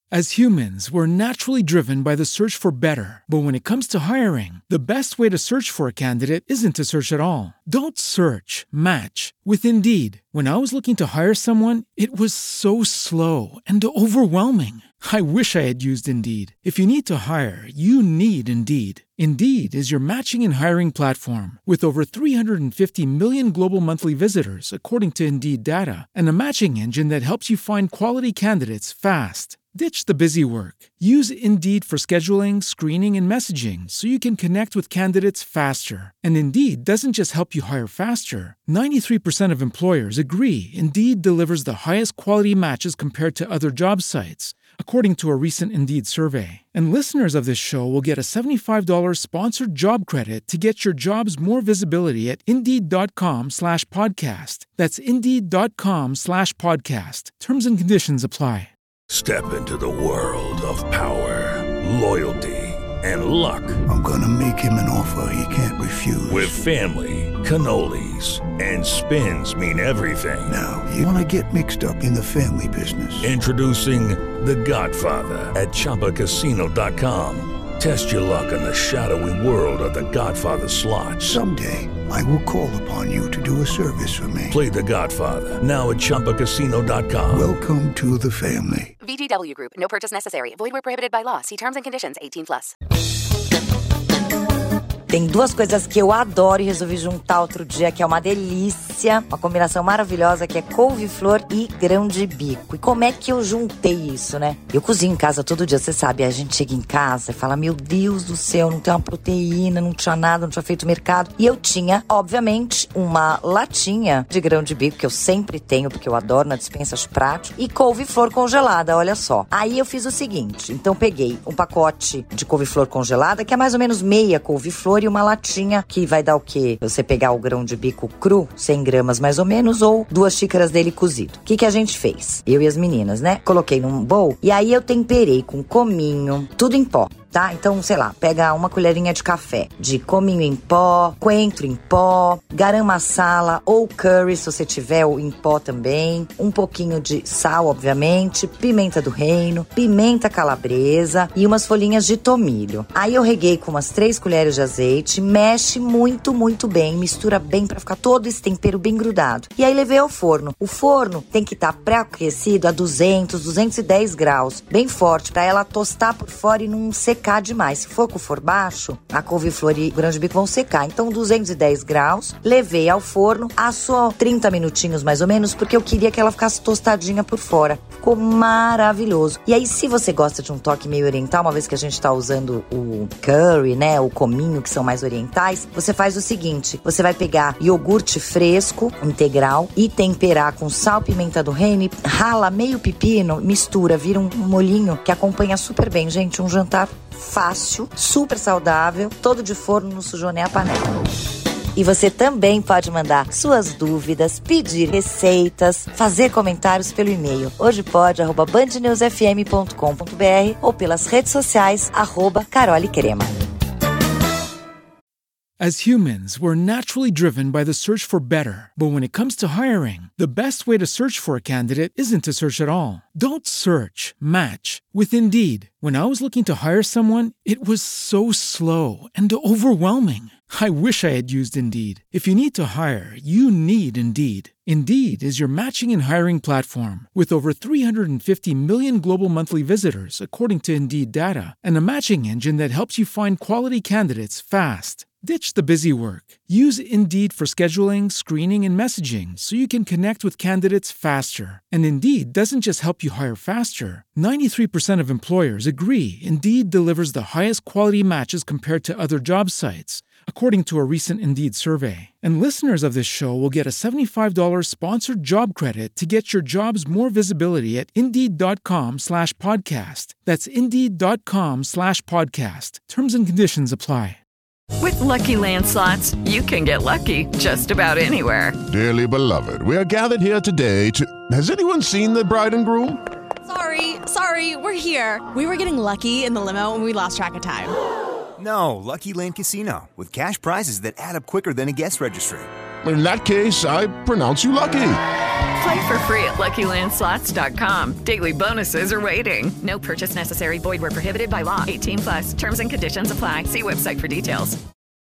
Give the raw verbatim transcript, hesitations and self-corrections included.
As humans, we're naturally driven by the search for better. But when it comes to hiring, the best way to search for a candidate isn't to search at all. Don't search, match with Indeed. When I was looking to hire someone, it was so slow and overwhelming. I wish I had used Indeed. If you need to hire, you need Indeed. Indeed is your matching and hiring platform with over three hundred fifty million global monthly visitors, according to Indeed data, and a matching engine that helps you find quality candidates fast. Ditch the busy work. Use Indeed for scheduling, screening, and messaging so you can connect with candidates faster. And Indeed doesn't just help you hire faster. ninety-three percent of employers agree Indeed delivers the highest quality matches compared to other job sites, according to a recent Indeed survey. And listeners of this show will get a seventy-five dollars sponsored job credit to get your jobs more visibility at Indeed.com slash podcast. That's Indeed.com slash podcast. Terms and conditions apply. Step into the world of power, loyalty, and luck. I'm gonna make him an offer he can't refuse. With family, cannolis, and spins mean everything. Now, you wanna get mixed up in the family business. Introducing The Godfather at Chumba Casino dot com. Test your luck in the shadowy world of The Godfather slot. Someday, I will call upon you to do a service for me. Play The Godfather, now at Chumba Casino dot com. Welcome to the family. V G W Group. No purchase necessary. Void where prohibited by law. See terms and conditions. eighteen plus. Tem duas coisas que eu adoro e resolvi juntar outro dia, que é uma delícia, uma combinação maravilhosa, que é couve-flor e grão de bico. E como é que eu juntei isso, né? Eu cozinho em casa todo dia, você sabe, a gente chega em casa e fala, meu Deus do céu, não tem uma proteína, não tinha nada, não tinha feito mercado. E eu tinha, obviamente, uma latinha de grão de bico, que eu sempre tenho, porque eu adoro na despensa, acho prático, e couve-flor congelada, olha só. Aí eu fiz o seguinte, então peguei um pacote de couve-flor congelada, que é mais ou menos meia couve-flor, e uma latinha que vai dar o quê? Você pegar o grão de bico cru, cem gramas mais ou menos, ou duas xícaras dele cozido. O que que a gente fez? Eu e as meninas, né? Coloquei num bowl e aí eu temperei com cominho, tudo em pó. Tá? Então, sei lá, pega uma colherinha de café de cominho em pó, coentro em pó, garam masala ou curry, se você tiver o em pó também, um pouquinho de sal, obviamente, pimenta do reino, pimenta calabresa e umas folhinhas de tomilho. Aí eu reguei com umas três colheres de azeite, mexe muito, muito bem, mistura bem pra ficar todo esse tempero bem grudado. E aí levei ao forno. O forno tem que estar pré-aquecido a duzentos, duzentos e dez graus, bem forte, pra ela tostar por fora e não secar demais. Se for com o forno baixo, a couve-flor e o grão de bico vão secar. Então, duzentos e dez graus, levei ao forno, assou trinta minutinhos mais ou menos, porque eu queria que ela ficasse tostadinha por fora. Ficou maravilhoso. E aí, se você gosta de um toque meio oriental, uma vez que a gente tá usando o curry, né, o cominho, que são mais orientais, você faz o seguinte, você vai pegar iogurte fresco, integral, e temperar com sal, pimenta do reino, rala meio pepino, mistura, vira um molhinho que acompanha super bem, gente, um jantar fácil, super saudável, todo de forno, não sujou nem a panela. E você também pode mandar suas dúvidas, pedir receitas, fazer comentários pelo e-mail hojepod arroba band news f m ponto com ponto b r ou pelas redes sociais arroba Carole Crema. As humans, we're naturally driven by the search for better. But when it comes to hiring, the best way to search for a candidate isn't to search at all. Don't search, match with Indeed. When I was looking to hire someone, it was so slow and overwhelming. I wish I had used Indeed. If you need to hire, you need Indeed. Indeed is your matching and hiring platform with over three hundred fifty million global monthly visitors, according to Indeed data, and a matching engine that helps you find quality candidates fast. Ditch the busy work. Use Indeed for scheduling, screening, and messaging so you can connect with candidates faster. And Indeed doesn't just help you hire faster. ninety-three percent of employers agree Indeed delivers the highest quality matches compared to other job sites, according to a recent Indeed survey. And listeners of this show will get a seventy-five dollars sponsored job credit to get your jobs more visibility at Indeed.com slash podcast. That's Indeed.com slash podcast. Terms and conditions apply. With Lucky Land Slots, you can get lucky just about anywhere. Dearly beloved, we are gathered here today to... Has anyone seen the bride and groom? Sorry, sorry, we're here. We were getting lucky in the limo and we lost track of time. No, Lucky Land Casino, with cash prizes that add up quicker than a guest registry. In that case, I pronounce you lucky. Play for free at Lucky Land Slots dot com. Daily bonuses are waiting. No purchase necessary. Void where prohibited by law. eighteen plus. Terms and conditions apply. See website for details.